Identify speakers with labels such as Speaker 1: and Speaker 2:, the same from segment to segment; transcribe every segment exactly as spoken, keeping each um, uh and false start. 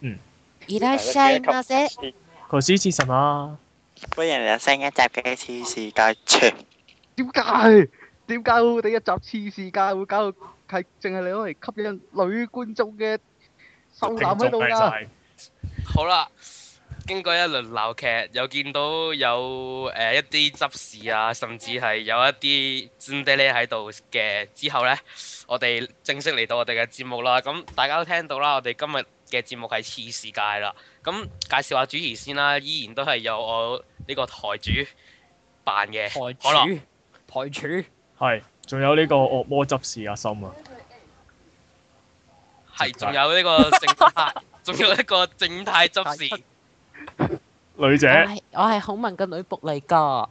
Speaker 1: 嗯。
Speaker 2: いらっしゃいませ。
Speaker 1: こし是什麼？
Speaker 3: 歡迎嚟到新一集嘅次世界傳。
Speaker 4: 點解？點解我哋一集次世界會搞到係淨係你攞嚟吸引女觀眾嘅秀男喺度㗎？
Speaker 5: 好啦，經過一輪鬧劇，又見到有誒、呃、一啲執事啊，甚至係有一啲真爹咧喺度嘅之後呢，我哋正式嚟到我哋嘅節目啦。咁大家都聽到啦，我哋今日嘅節目係次世界啦。咁介紹下主持先啦，依然都係有我呢個台主扮嘅
Speaker 2: 台主，
Speaker 5: 好
Speaker 2: 台主
Speaker 1: 係，仲有呢個惡魔執事阿森啊，
Speaker 5: 係，仲有呢個正太，仲有一個正太執事
Speaker 1: 女姐。
Speaker 2: 我係我係孔文嘅女僕嚟㗎。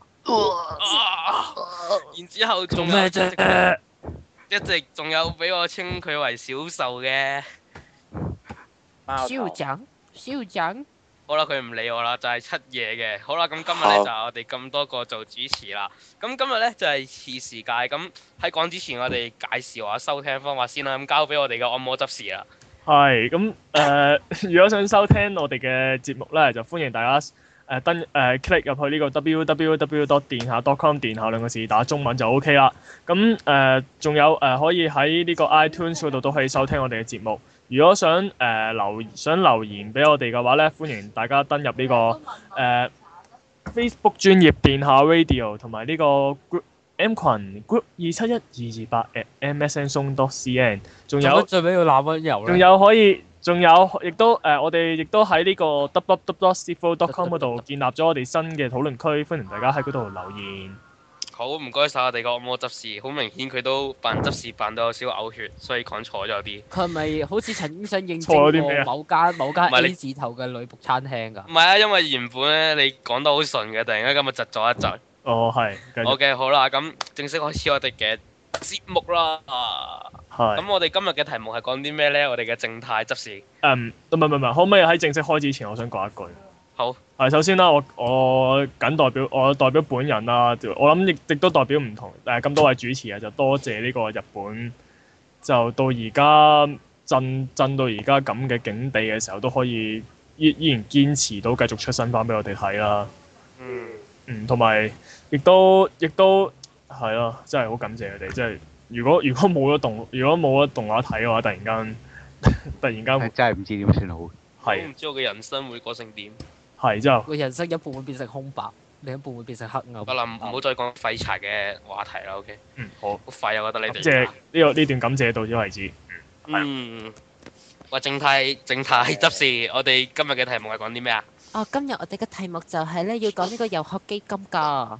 Speaker 5: 然之後仲
Speaker 2: 做咩啫？
Speaker 5: 一直仲有俾我稱佢為小受嘅
Speaker 2: 校長，校長。
Speaker 5: 好啦，佢唔理我啦，就係、是、七夜嘅。好啦，咁今日咧就係我哋咁多個做主持啦。咁今日咧就係次世界。咁喺講之前，我哋介紹下收聽方法先啦。咁交俾我哋嘅按摩執事啦。
Speaker 1: 係咁誒，如果想收聽我哋嘅節目咧，就歡迎大家誒、呃、登誒、呃、click 入去呢個 w w w dot 電下 dot com 電下兩個字打中文就 O K 啦。咁誒仲有誒、呃、可以喺呢個 iTunes 嗰度都可以收聽我哋嘅節目。如果想誒、呃、留想留言俾我哋嘅話咧，歡迎大家登入呢、這個誒、呃、Facebook 專頁電下 Radio 同埋呢個 group M 群 group 二七一二二八 at m s n song dot c n。仲有
Speaker 2: 最尾要攬溫柔咧。
Speaker 1: 仲有可以，仲有亦都誒、呃，我哋亦都喺呢個 w w w dot s t i f o dot com 嗰度建立咗我哋新嘅討論區，歡迎大家喺嗰度留言。
Speaker 5: 好，唔該晒我哋個按摩執事，好明顯佢都扮執事扮到有少少嘔血，所以講錯咗啲。
Speaker 2: 佢係咪好似曾經想認證過某間某間 A 字頭嘅女僕餐廳㗎？
Speaker 5: 唔係啊，因為原本咧你講得好順嘅，突然間今日窒咗一窒。
Speaker 1: 哦，係。
Speaker 5: 好嘅，好啦，咁正式開始我哋嘅節目啦。係。咁我哋今日嘅題目係講啲咩咧？我哋嘅正太執事。
Speaker 1: 誒，唔係唔係唔係，可唔可以喺正式開始前，我想講一句。
Speaker 5: 好。
Speaker 1: 係，首先啦，我我僅代表我代表本人啦，我諗亦亦都代表唔同誒咁多位主持啊，就多謝呢個日本，就到而家震震到而家咁嘅境地嘅時候，都可以依依然堅持到繼續出新番俾我哋睇啦。
Speaker 5: 嗯。嗯，
Speaker 1: 同埋亦都亦都係咯，真係好感謝佢哋。即係如果如果冇咗動，如果冇咗動畫睇嘅話，突然間突然間
Speaker 4: 真係唔知點算好。
Speaker 5: 係。唔知我嘅人生會過成點？
Speaker 1: 係之後，
Speaker 2: 個人生一半會變成空白，另一半會變成黑暗。
Speaker 5: 得啦，唔好再講廢柴嘅話題啦。OK。
Speaker 1: 嗯，好。
Speaker 5: 好廢啊！我覺得你哋。
Speaker 1: 即係呢個呢段感謝到此為止。
Speaker 5: 嗯。喂，正太正太執事，我哋今日嘅題目係講啲咩啊？
Speaker 2: 哦，今日我哋嘅題目就係咧，要講呢個遊學基金㗎。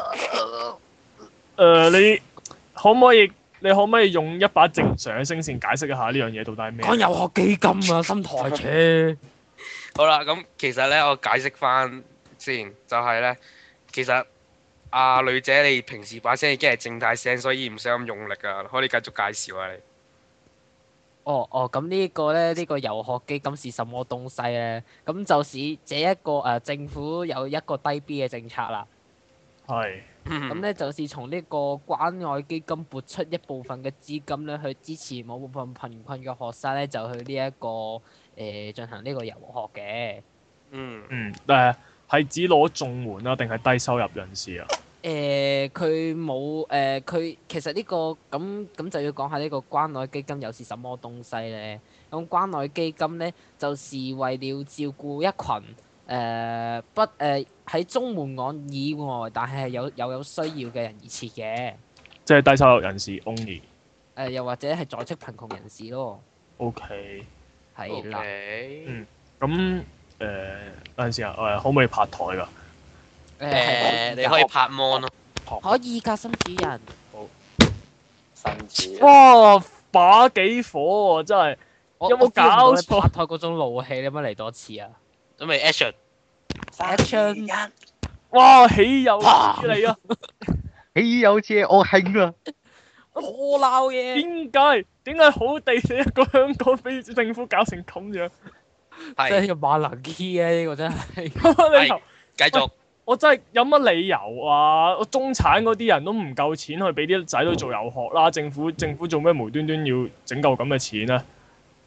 Speaker 1: 誒，你可唔可以？你可唔可以用一把正常嘅聲線解釋一下呢樣嘢到底係咩？
Speaker 2: 講遊學基金啊，新台車。
Speaker 5: 好啦，咁其實咧，我解釋翻先，就係、是、咧，其實阿、呃、女姐你平時把聲已經係正太聲，所以唔使咁用力噶，可以繼續介紹啊你。
Speaker 2: 哦哦，咁呢個咧，呢、這個遊學基金是什麼東西咧？咁就是這一個誒、呃、政府有一個低 B 嘅政策啦。
Speaker 1: 係。
Speaker 2: 咁咧就是從呢個關愛基金撥出一部分嘅資金咧，去支持某部分貧困嘅學生咧，就去呢、這、一個誒、呃、進行呢個遊學嘅。
Speaker 5: 嗯。
Speaker 1: 嗯。誒，係指攞綜援啊，定係低收入人士啊？
Speaker 2: 誒，佢冇誒，佢、呃、其實呢、這個咁咁就要講下呢個關愛基金又是什麼東西咧？咁關愛基金咧，就是為了照顧一群。誒、呃、不誒喺、呃、中門案以外，但係有有有需要嘅人而設嘅，
Speaker 1: 即係低收入人士 only。誒、
Speaker 2: 呃、又或者係在職貧窮人士咯。
Speaker 1: O K。
Speaker 2: 係啦。
Speaker 1: 嗯。咁誒嗰陣時啊，誒可唔可以拍台㗎？誒、
Speaker 2: 呃
Speaker 5: 呃，你可以拍 mon 咯。
Speaker 2: 可以㗎，新主人。
Speaker 1: 好。
Speaker 3: 新主人。
Speaker 1: 哇！把幾火喎、啊，真係。有冇搞錯？
Speaker 2: 拍台嗰種怒氣，你有冇嚟多次啊？
Speaker 5: 準備 action。
Speaker 2: action。
Speaker 1: 哇！豈有此理啊！
Speaker 4: 豈有此理，我興啊！
Speaker 2: 我鬧嘢。
Speaker 1: 點解？點解好地地一個香港俾政府搞成咁樣？
Speaker 5: 係。
Speaker 2: 真係要萬能 key 啊！呢個真係。
Speaker 5: 係。繼續。
Speaker 1: 我真係有乜理由啊？我中產嗰啲人都唔夠錢去俾啲仔女做遊學啦，政府政府做咩無端端要整夠咁嘅錢啊？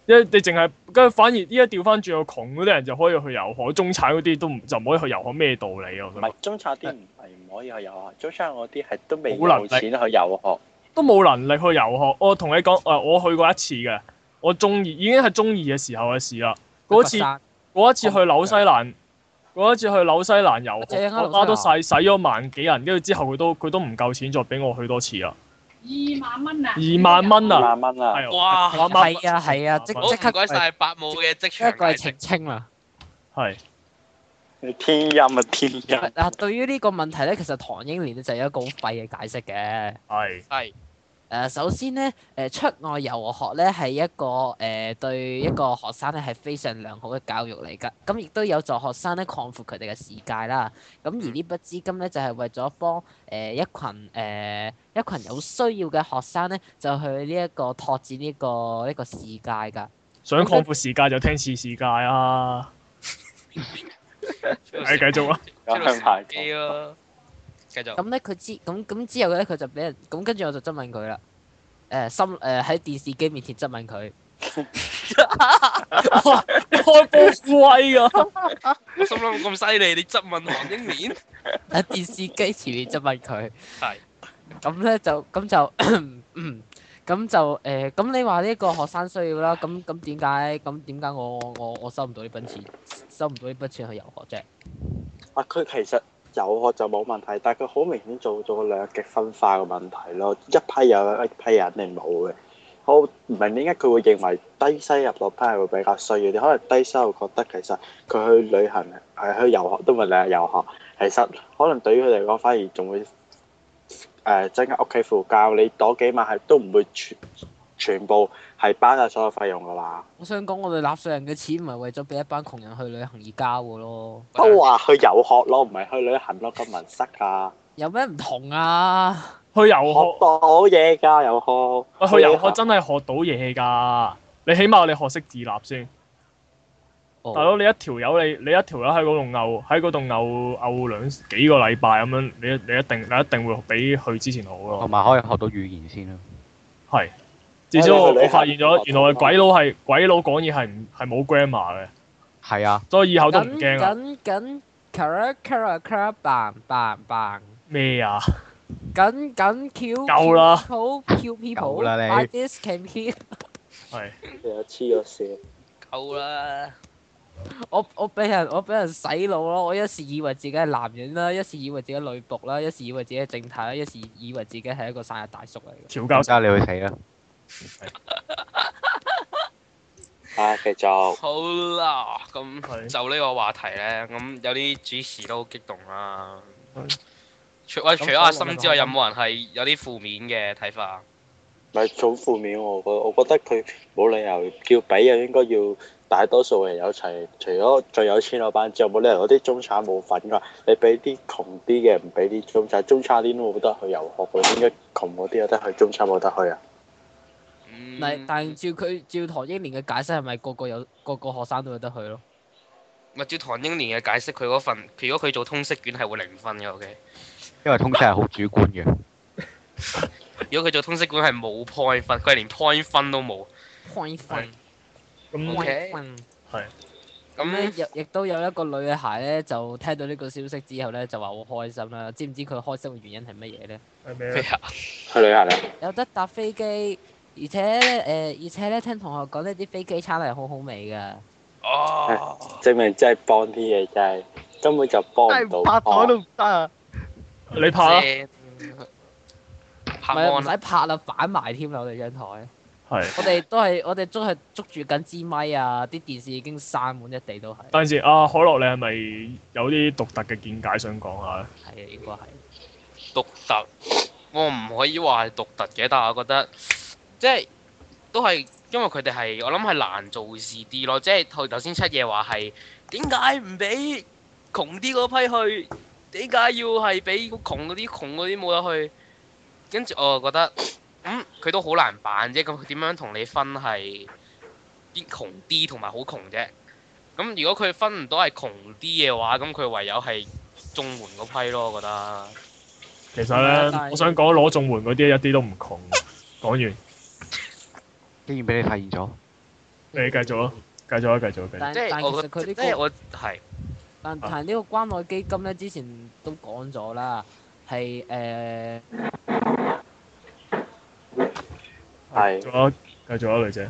Speaker 1: 因為你淨係跟住，反而依家調翻轉，個窮嗰啲人就可以去遊學，中產嗰啲都唔就唔可以去遊學，咩道理啊？
Speaker 3: 唔係中產啲唔係唔可以去遊學，中產嗰啲係都未
Speaker 1: 冇能力
Speaker 3: 有錢去遊學。
Speaker 1: 都冇能力去遊學。我同你講，誒，我去過一次嘅，我中二已經係中二嘅時候嘅事啦。嗰次嗰一次去紐西蘭，嗰一次去紐西蘭遊學，我媽都使使咗萬幾人，跟住之後佢都佢都唔夠錢再俾我去多次啦。
Speaker 6: 二萬蚊啊！
Speaker 1: 二萬蚊啊！
Speaker 3: 二萬蚊啊！
Speaker 1: 係啊
Speaker 5: 哇！
Speaker 1: 我媽
Speaker 2: 係啊係啊，即
Speaker 5: 好
Speaker 2: 即刻
Speaker 5: 唔該晒伯母嘅職
Speaker 2: 一
Speaker 5: 場
Speaker 2: 個係澄
Speaker 5: 解釋。
Speaker 2: 清啦。
Speaker 1: 係
Speaker 3: 你天陰啊天陰！
Speaker 2: 嗱，對於呢個問題咧，其實唐英年咧就有一個好廢嘅解釋嘅。
Speaker 1: 係
Speaker 5: 係
Speaker 2: 誒、首先咧，誒、出外遊學咧係一個誒、對一個學生咧係非常良好嘅教育嚟㗎。咁亦都有助學生咧擴闊佢哋嘅視界啦。咁而呢筆資金咧就係為咗幫誒一群誒一群有需要嘅學生咧，就去呢一個拓展呢個呢個視界㗎。
Speaker 1: 想擴闊視界就聽次視界啊！係繼續啊！
Speaker 5: 出到時機咯。繼續。
Speaker 2: 咁咧佢知咁咁之後咧佢就俾人咁跟住我就質問佢啦。誒、心誒喺電視機面前質問佢。
Speaker 1: 你開波副威㗎！
Speaker 5: 我心諗咁犀利，你質問黃英年？
Speaker 2: 喺電視機前面質問佢。
Speaker 5: 係。
Speaker 2: 咁咧就咁就嗯咁就誒咁、你話呢個學生需要啦，咁咁點解咁點解我我我收唔到呢筆錢，收唔到呢筆錢去遊學啫？
Speaker 3: 啊，佢其實遊學就冇問題，但係佢好明顯做咗兩極分化嘅問題咯。一批有，一批人肯定冇嘅。我唔明點解佢會認為低收入嗰批係會比較需要啲，可能低收入覺得其實佢去旅行係去遊學都唔係兩日遊學，其實可能對於佢嚟講反而仲會誒、呃、增加屋企負擔。你攞幾萬係都唔會全全部係包晒所有費用㗎嘛。
Speaker 2: 我想講，我哋納稅人嘅錢唔係為咗俾一班窮人去旅行而交嘅咯。
Speaker 3: 都話去遊學咯，唔係去旅行咯，咁文塞㗎。
Speaker 2: 有咩唔同啊？
Speaker 1: 去遊
Speaker 3: 學
Speaker 1: 學，
Speaker 3: 到嘢㗎，遊學。
Speaker 1: 喂，去遊學真係學到嘢㗎。你起碼你學識自立先。
Speaker 2: 哦
Speaker 1: 大佬，你一條友你你一條友喺嗰度漚喺嗰度漚漚兩幾個禮拜咁樣，你你一定你一定會比去之前好咯
Speaker 4: 同。埋可以學到語言先啦。
Speaker 1: 係。至少我
Speaker 3: 哎你去旅行
Speaker 1: 我發現咗，原來鬼佬係鬼佬講嘢係唔係冇 grammar 嘅，
Speaker 4: 係啊，
Speaker 1: 所以以後都唔驚
Speaker 2: 緊
Speaker 1: 啊。
Speaker 2: 緊緊 cara cara cara bang bang bang
Speaker 1: 咩啊？
Speaker 2: 緊緊 Q
Speaker 1: 夠啦
Speaker 2: Q Q
Speaker 4: 夠啦
Speaker 2: people
Speaker 4: 你
Speaker 2: I this can hear
Speaker 1: 係。
Speaker 3: 你又黐咗線。
Speaker 5: 夠啦。
Speaker 2: 我我俾人我俾人洗腦咯，我一時以為自己係男人啦，一時以為自己係女僕啦，一時以為自己係正太啦，一時以為自己係一個生日大叔嚟嘅。
Speaker 1: 調教
Speaker 4: 家你去死啦！
Speaker 3: 啊，繼續。
Speaker 5: 好啦，咁
Speaker 1: 係
Speaker 5: 就呢個話題咧，咁有啲主持都好激動啦
Speaker 1: 係。
Speaker 5: 除喂，除咗阿森之外，
Speaker 2: 咁
Speaker 5: 有冇人係有啲負面嘅睇法？
Speaker 3: 唔係好負面喎，我我覺得佢冇理由叫比啊，應該要大多數人有齊，除咗最有錢嗰班之外，冇理由嗰啲中產冇份㗎。你俾啲窮啲嘅唔俾啲中產，中產啲都冇得去遊學嘅，點解窮嗰啲有得去，中產冇得去啊？
Speaker 5: 嗯
Speaker 2: 但但照佢照唐英年嘅解釋係咪個個有個個學生都有得去咯？
Speaker 5: 咪照唐英年嘅解釋，佢嗰份如果佢做通識卷係會零分嘅，OK。
Speaker 4: 因為通識係好主觀嘅。
Speaker 5: 如果佢做通識卷係冇 point 分，佢係連 point 分都冇。
Speaker 2: point 分
Speaker 1: 咁
Speaker 5: OK
Speaker 2: 分
Speaker 1: 係
Speaker 2: 咁咧，
Speaker 5: 咁
Speaker 2: 亦亦都有一個女孩咧，就聽到呢個消息之後咧，就話好開心啦。知唔知佢開心嘅原因係乜嘢咧？
Speaker 1: 係咩咧？
Speaker 5: 咩啊？
Speaker 3: 去旅行啊？
Speaker 2: 有得搭飛機，而且咧誒、呃而且咧聽同學講呢啲飛機餐係好好味㗎。
Speaker 5: 哦，
Speaker 3: 證明真係幫啲嘢，真係根本就幫
Speaker 4: 真
Speaker 3: 唔到。
Speaker 4: 係拍台都唔得啊！
Speaker 1: 你拍啦。
Speaker 5: 正拍
Speaker 2: 唔係唔
Speaker 5: 安
Speaker 2: 使拍啦，反埋添啦！我哋張台，
Speaker 1: 係。
Speaker 2: 我哋都係我哋都係捉住緊支咪啊！啲電視已經散滿一地都係。
Speaker 1: 等陣先，阿可樂，你係咪有啲獨特嘅見解想講下咧？
Speaker 2: 係啊，應該係。
Speaker 5: 獨特，我唔可以話係獨特嘅，但係我覺得即係都係因為佢哋係我諗係難做事啲咯，即係頭頭先七爺話係點解唔俾窮啲嗰批去？點解要係俾窮嗰啲窮嗰啲冇得去？跟住我就覺得，咁佢都好難辦啫。咁佢點樣同你分係啲窮啲同埋好窮啫？咁如果佢分唔到係窮啲嘅話，咁佢唯有係綜援嗰批咯，我覺得。
Speaker 1: 其實
Speaker 2: 係啊但
Speaker 1: 咧，
Speaker 2: 係
Speaker 1: 我想講攞綜援嗰啲一啲都唔窮。講完。
Speaker 4: 竟然俾你發現咗。
Speaker 1: 你繼續啊，繼續啊，繼續啊，繼續。
Speaker 2: 但
Speaker 5: 即係
Speaker 2: 但其實佢呢、
Speaker 5: 我覺得，即
Speaker 2: 個
Speaker 5: 係我係
Speaker 2: 但但係呢個關愛基金咧，之前都講咗啦，係誒、呃
Speaker 3: 係
Speaker 1: 仲有繼續啊，女仔。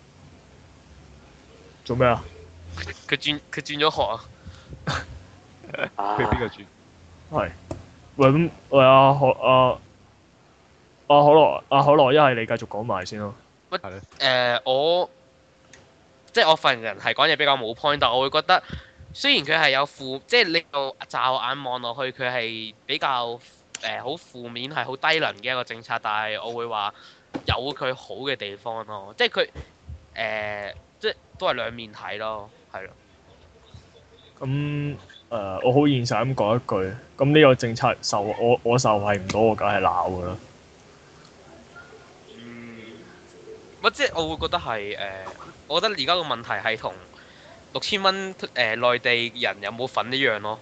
Speaker 1: 做咩啊？
Speaker 5: 佢轉佢轉咗學啊！
Speaker 3: 啊
Speaker 4: 佢邊個轉？
Speaker 1: 係。喂咁，喂阿可阿阿可樂阿可樂，一係你繼續講埋先咯。
Speaker 5: 乜
Speaker 4: 係咯
Speaker 5: 誒我即係我份人係講嘢比較冇 point，但我會覺得雖然佢係有負，即係你個驟眼望落去佢係比較誒好負面係好低能嘅一個政策，但係我會話有佢好嘅地方咯，即係佢誒即係都係兩面睇咯，係咯。
Speaker 1: 咁誒、呃，我好現實咁講一句，咁呢個政策受我我受惠唔到，我梗係鬧㗎啦。
Speaker 5: 嗯，乜即係我會覺得係誒、呃，我覺得而家個問題係同六千蚊誒內地人有冇份一樣咯。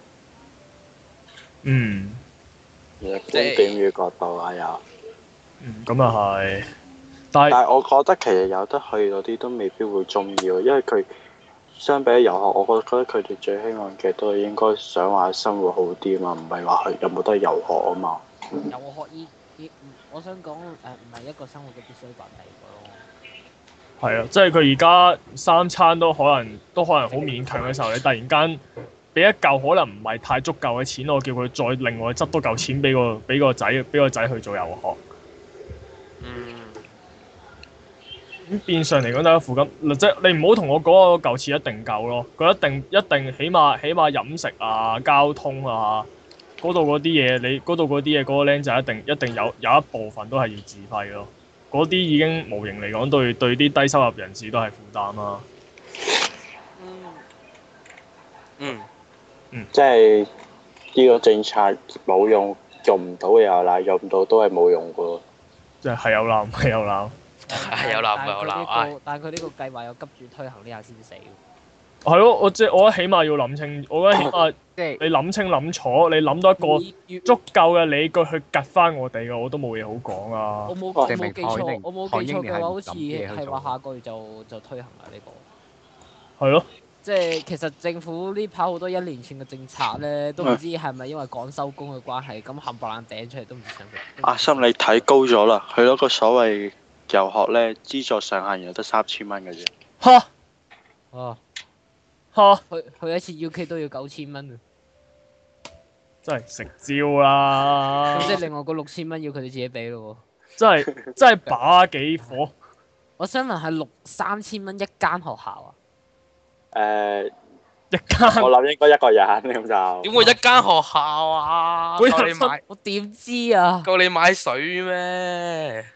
Speaker 1: 嗯，
Speaker 3: 其實觀點與角度係有，
Speaker 1: 嗯，咁啊係，但係
Speaker 3: 但係我覺得其實有得去嗰啲都未必會中意喎，因為佢相比遊學，我覺得佢哋最希望嘅都係應該想話生活好啲嘛，唔係話去有冇得遊學啊嘛。
Speaker 2: 遊學依依，我想講誒，唔係一個生活嘅必須品嚟嘅咯。
Speaker 1: 係啊，即係佢而家三餐都可能都可能好勉強嘅時候，你突然間俾一嚿可能唔係太足夠嘅錢，我叫佢再另外執多嚿錢俾個俾個仔俾個仔去做遊學。
Speaker 5: 嗯。
Speaker 1: 咁變相嚟講，大家附近即係你唔好同我講嗰嚿錢一定夠咯，佢一定一定起碼起碼飲食啊、交通啊嗰度嗰啲嘢，你嗰度嗰啲嘢嗰個僆仔一定一定有有一部分都係要自費咯。嗰啲已經無形嚟講對對啲低收入人士都係負擔啦。
Speaker 5: 嗯。
Speaker 3: 即係呢個政策冇用，用唔到嘅又賴，用唔到都係冇用嘅喎。
Speaker 1: 即係係有鬧係有鬧。
Speaker 5: 係有鬧有鬧，唉！
Speaker 2: 但係佢呢個計劃又急住推行呢下先死。
Speaker 1: 係咯，我即係我覺得起碼要諗清，我覺得起碼
Speaker 4: 即係
Speaker 1: 你諗清諗楚，你諗到一個足夠嘅理據去趌翻我哋嘅，我都冇嘢好講啊
Speaker 2: 我。冇我
Speaker 4: 證明
Speaker 2: 冇記錯
Speaker 4: 唐英，
Speaker 2: 我冇
Speaker 4: 唐
Speaker 2: 記錯嘅話，
Speaker 4: 英年係唔
Speaker 2: 好似
Speaker 4: 諗嘢去
Speaker 2: 係話
Speaker 4: 做
Speaker 2: 下個月就就推行啦呢個。
Speaker 1: 係咯，
Speaker 2: 即係其實政府呢排好多一連串嘅政策咧，都唔知係咪因為趕收工嘅關係，咁冚唪唥掟出嚟都唔知想佢。
Speaker 3: 阿心你睇高咗啦，佢嗰個所謂遊學咧資助上限有得三千蚊嘅啫。
Speaker 1: 嚇
Speaker 2: 哦，
Speaker 1: 嚇，
Speaker 2: 去去一次 U K 都要九千蚊啊！
Speaker 1: 真係食蕉啦！
Speaker 2: 咁即係另外嗰六千蚊要佢哋自己俾咯喎。
Speaker 1: 真係真係把幾火。
Speaker 2: 我想問係六三千蚊一間學校啊？
Speaker 3: 誒、
Speaker 1: 一間
Speaker 3: 我諗應該一個人咁就。
Speaker 5: 點會一間學校啊？
Speaker 1: 每
Speaker 5: 夠你買
Speaker 2: 我點知啊？
Speaker 5: 夠你買水咩？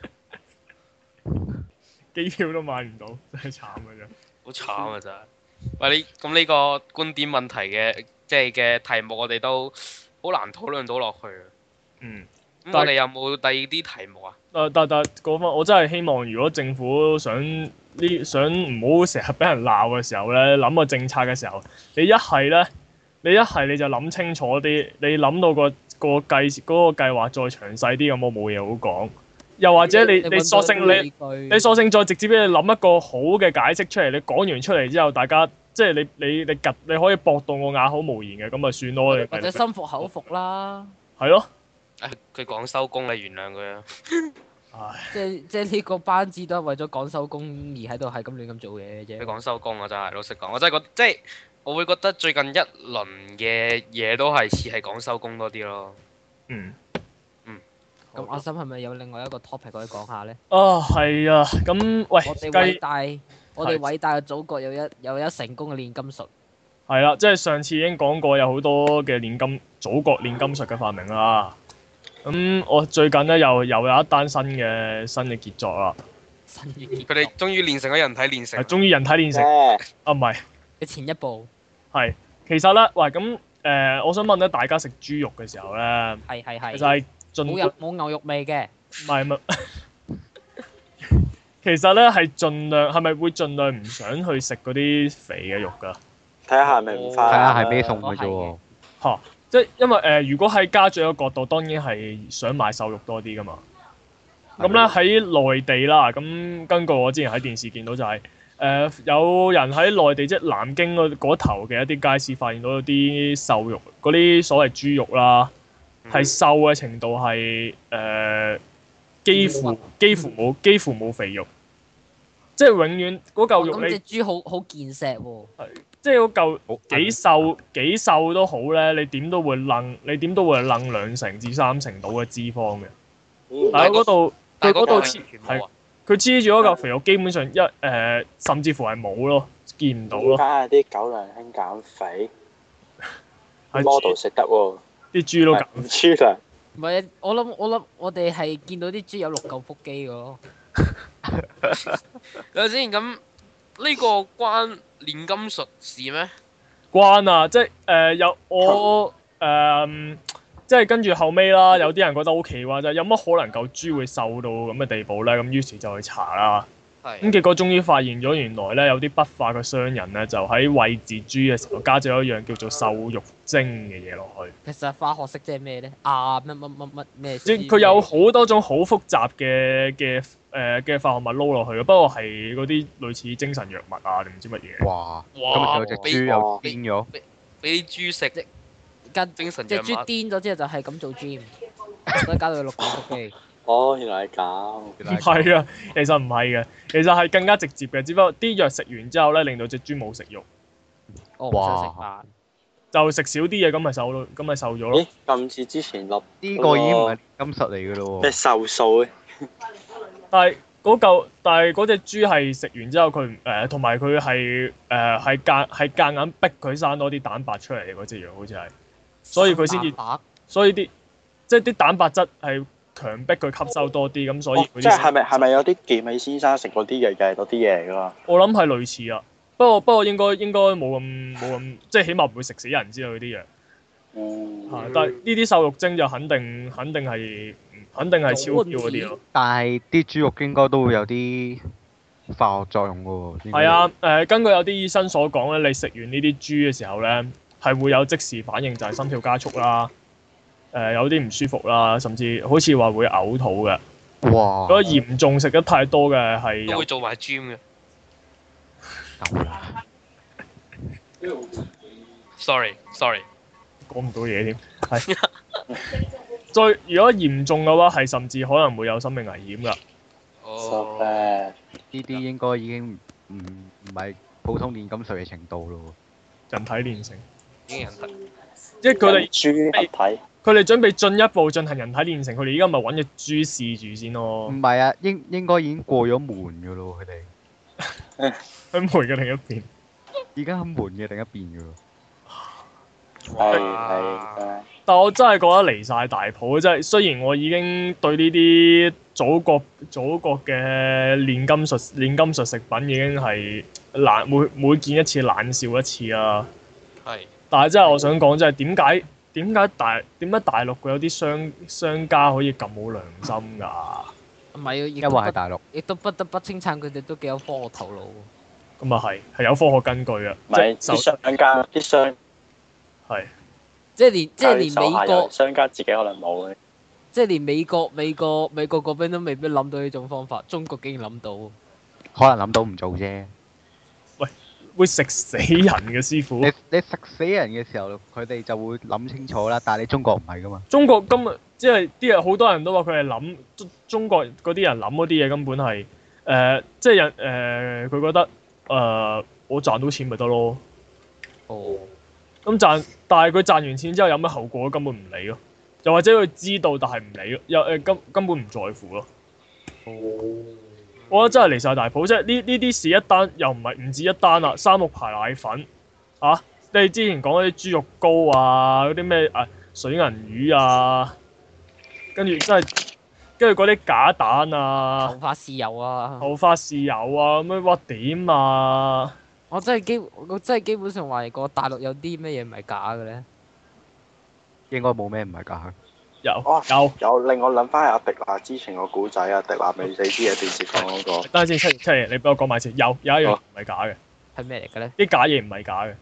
Speaker 1: 機票都買唔到，真係慘嘅啫。
Speaker 5: 好慘啊！真係。喂，你咁呢個觀點問題嘅即係嘅題目，我哋都好難討論到落去啊。
Speaker 1: 嗯。
Speaker 5: 咁我哋有冇第二啲題目啊？
Speaker 1: 但但但講翻，我真係希望如果政府想呢想唔好成日俾人鬧嘅時候咧，諗個政策嘅時候，你一係咧，你一係你就諗清楚啲，你諗到個個計嗰個計劃再詳細啲，咁我冇嘢好講。又或者你你索性你你索性再直接俾你諗一個好嘅解釋出嚟，你講完出嚟之後，大家即係你你你及你可以駁到我啞口無言嘅，咁咪算咯。
Speaker 2: 或者心服口服啦。
Speaker 1: 係咯。
Speaker 5: 誒，佢講收工，你原諒佢啊！
Speaker 1: 唉，
Speaker 2: 即係即係呢個班子都係為咗趕收工而喺度係咁亂咁做嘢嘅啫。
Speaker 5: 佢講收工啊，真係老實講，我真係覺即係我會覺得最近一輪嘅嘢都係似係講收工多啲咯。
Speaker 1: 嗯。
Speaker 2: 咁阿心係咪有另外一個 topic 可以講下咧？
Speaker 1: 啊，係啊，咁喂，
Speaker 2: 我哋偉
Speaker 1: 計
Speaker 2: 大，我哋偉大嘅祖國有一有一成功嘅煉金術。
Speaker 1: 係啦，即係上次已經講過有好多嘅煉金祖國煉金術嘅發明啦。咁我最近咧又又有一單新嘅新嘅傑作啦。
Speaker 2: 新嘅結
Speaker 5: 佢哋終於練成咗人體練成
Speaker 1: 係，。終於人體煉成。
Speaker 3: 誒
Speaker 1: 啊，唔係，
Speaker 2: 嘅前一步
Speaker 1: 係其實咧，喂，咁誒、呃，我想問咧，大家食豬肉嘅時候咧，
Speaker 2: 係係係
Speaker 1: 其實係盡
Speaker 2: 冇入冇牛肉味嘅。
Speaker 1: 唔係唔係，其實咧係盡量係咪會盡量唔想去食嗰啲肥嘅肉㗎？
Speaker 3: 睇下係咪唔
Speaker 4: 睇
Speaker 3: 翻。
Speaker 4: 下係咩餸嘅啫喎。
Speaker 1: 嚇！即係因為誒、呃，如果喺家長嘅角度，當然係想買瘦肉多啲噶嘛。咁咧喺內地啦，咁根據我之前喺電視見到就係、是、 呃、有人喺內地即係南京嗰嗰頭嘅一啲街市發現到啲瘦肉，嗰啲所謂豬肉啦，係瘦嘅程度係誒、呃、幾乎幾乎冇幾乎冇肥肉，即係永遠嗰嚿肉你。
Speaker 2: 咁隻豬好好健碩喎。
Speaker 1: 係，即係嗰嚿幾瘦幾瘦都好咧，你點都會掕，你點都會掕兩成至三成到嘅脂肪嘅。
Speaker 3: 嗯
Speaker 1: 但係嗰度佢嗰度
Speaker 5: 係
Speaker 1: 黐係佢黐住嗰嚿肥肉，基本上一誒、呃、甚至乎係冇咯，見唔到咯。
Speaker 3: 而家啲狗糧興減肥
Speaker 1: 係
Speaker 3: ，model 食得喎，
Speaker 1: 啲豬都減。
Speaker 3: 唔豬糧。
Speaker 2: 唔係，我諗我諗我哋係見到啲豬有六嚿腹肌嘅咯。
Speaker 5: 等陣先，咁呢個關煉金術事咩？
Speaker 1: 關啊，即係誒、呃、有我誒、呃，即係跟住後尾啦，有啲人覺得好奇怪就係有乜可能嚿豬會瘦到咁嘅地步咧？咁於是就去查啦。咁
Speaker 5: 係。
Speaker 1: 結果終於發現咗，原來咧有啲不法嘅商人咧，就喺餵飼豬嘅時候加咗一樣叫做瘦肉精嘅嘢落去。
Speaker 2: 其實化學式即係咩咧？啊乜乜乜乜咩？
Speaker 1: 即係佢有好多種好複雜嘅嘅誒嘅化學物撈落去嘅，不過係嗰啲類似精神藥物啊定唔知乜嘢。
Speaker 4: 哇！今日
Speaker 5: 哇！
Speaker 4: 有隻
Speaker 5: 俾
Speaker 4: 豬又癲咗，
Speaker 5: 俾啲豬食
Speaker 2: 跟
Speaker 5: 精神藥
Speaker 2: 隻豬
Speaker 5: 物。
Speaker 2: 癲咗之後就係咁做 gym，所以搞到佢六嚿腹肌。
Speaker 3: 哦，原來係咁。
Speaker 1: 唔係啊，其實唔係嘅，其實係更加直接嘅，只不過啲藥食完之後咧，令到隻豬冇食肉，
Speaker 2: 我唔想食飯。
Speaker 1: 就食少啲嘢，咁咪瘦咯，咁咪瘦咗咯
Speaker 3: 咦。，咁似之前落
Speaker 4: 呢個已經唔係金術嚟嘅咯
Speaker 3: 咩
Speaker 4: 喎。
Speaker 3: 瘦素嘅，
Speaker 1: 但係嗰嚿，但係嗰隻豬係食完之後，佢誒同埋佢係誒係夾係夾硬逼佢生多啲蛋白出嚟嘅嗰隻藥，好似係，所以佢先至，
Speaker 2: 蛋白
Speaker 1: 所以啲即係啲蛋白質係強迫佢吸收多啲，咁所以
Speaker 3: 哦
Speaker 1: 佢啲
Speaker 3: 即係係咪係咪有啲健美先生食嗰啲嘢嘅嗰啲嘢嚟㗎嘛？
Speaker 1: 我諗係類似啊，不過不過應該應該冇咁冇咁，即係起碼唔會食死人之類嗰啲藥。
Speaker 3: 嗯，
Speaker 1: 係但係呢啲瘦肉精就肯定肯定係肯定係超標嗰啲咯。
Speaker 4: 但係啲豬肉應該都會有啲化學作用嘅喎。應該
Speaker 1: 係啊，誒、根據有啲醫生所講咧，你食完呢啲豬嘅時候咧，係會有即時反應，就係心跳加速啦，誒、有啲唔舒服啦，甚至好似話會嘔吐嘅。
Speaker 4: 哇！
Speaker 1: 如果嚴重食得太多嘅係有
Speaker 5: 都會做埋 gym 嘅。
Speaker 4: 夠啦
Speaker 5: Sorry sorry。
Speaker 1: 講唔到嘢添，係。再如果嚴重嘅話，係甚至可能會有生命危險㗎。
Speaker 3: so
Speaker 5: 哦。
Speaker 3: bad。
Speaker 4: 呢啲應該已經唔唔係普通煉金術嘅程度咯
Speaker 1: 人體煉成，
Speaker 5: 已經人得。
Speaker 1: 即係佢哋
Speaker 3: 豬合體。
Speaker 1: 佢哋準備進一步進行人體煉成，佢哋依家咪揾隻豬試住先
Speaker 4: 喎。
Speaker 1: 咯
Speaker 4: 唔。係啊，應應該已經過咗門嘅咯，佢哋
Speaker 1: 喺門嘅另一邊。
Speaker 4: 已經喺門嘅另一邊嘅咯。
Speaker 3: 係係
Speaker 5: 哇！
Speaker 3: 係。
Speaker 1: 但我真係覺得離晒大譜，真係雖然我已經對呢啲祖國祖國嘅煉金術煉金術食品已經係冷每每見一次冷笑一次啦。
Speaker 5: 係。
Speaker 1: 但係真係我想講，真係點解點解大點解大陸佢有啲商商家可以咁冇良心㗎？
Speaker 2: 唔係啊，亦
Speaker 4: 因
Speaker 2: 都不
Speaker 4: 為喺大陸，
Speaker 2: 亦都不得不稱讚佢哋都幾有科學頭腦。
Speaker 1: 咁啊係係有科學根據嘅，
Speaker 3: 唔係
Speaker 1: 即係
Speaker 3: 啲商家啲商
Speaker 1: 係
Speaker 2: 即係連即係連
Speaker 3: 手下有
Speaker 2: 美國，
Speaker 3: 商家自己可能冇嘅。
Speaker 2: 即係連美國美國美國嗰邊都未必諗到呢種方法，中國竟然諗到。
Speaker 4: 可能諗到唔做啫。
Speaker 1: 會食死人嘅師傅。
Speaker 4: 你你食死人嘅時候，佢哋就會諗清楚啦。但係你中國唔係噶嘛。
Speaker 1: 中國今日即係啲人好多人都話佢係諗中中國嗰啲人諗嗰啲嘢根本係誒、呃，即係人誒佢覺得誒、呃、我賺到錢咪得咯。
Speaker 2: 哦。
Speaker 1: 咁賺，但係佢賺完錢之後有咩後果根本唔理咯。又或者佢知道但係唔理咯，又誒根根本唔在乎咯。
Speaker 2: 哦。
Speaker 1: 我覺得真係離晒大譜，即係呢呢啲事一單又唔係唔止一單啦，三鹿牌奶粉啊，你之前講嗰啲豬肉糕啊，嗰啲咩誒水銀魚啊，跟住真係跟住嗰啲假蛋啊
Speaker 2: 頭，髮豉油啊！
Speaker 1: 頭髮豉油啊，咁樣哇點啊？
Speaker 2: 我真係基我真係基本上懷疑過大陸有啲咩嘢唔係假嘅咧。
Speaker 4: 應該冇咩唔係假。
Speaker 1: 有
Speaker 3: 哦
Speaker 1: 有，
Speaker 3: 有令我諗翻阿迪華之前個古仔啊，迪華未死之嘅電視講嗰個。
Speaker 1: 等陣先，七七爺，你俾我講埋先。有有一樣唔係假嘅，
Speaker 2: 係咩嚟嘅咧？
Speaker 1: 啲假嘢唔係假嘅。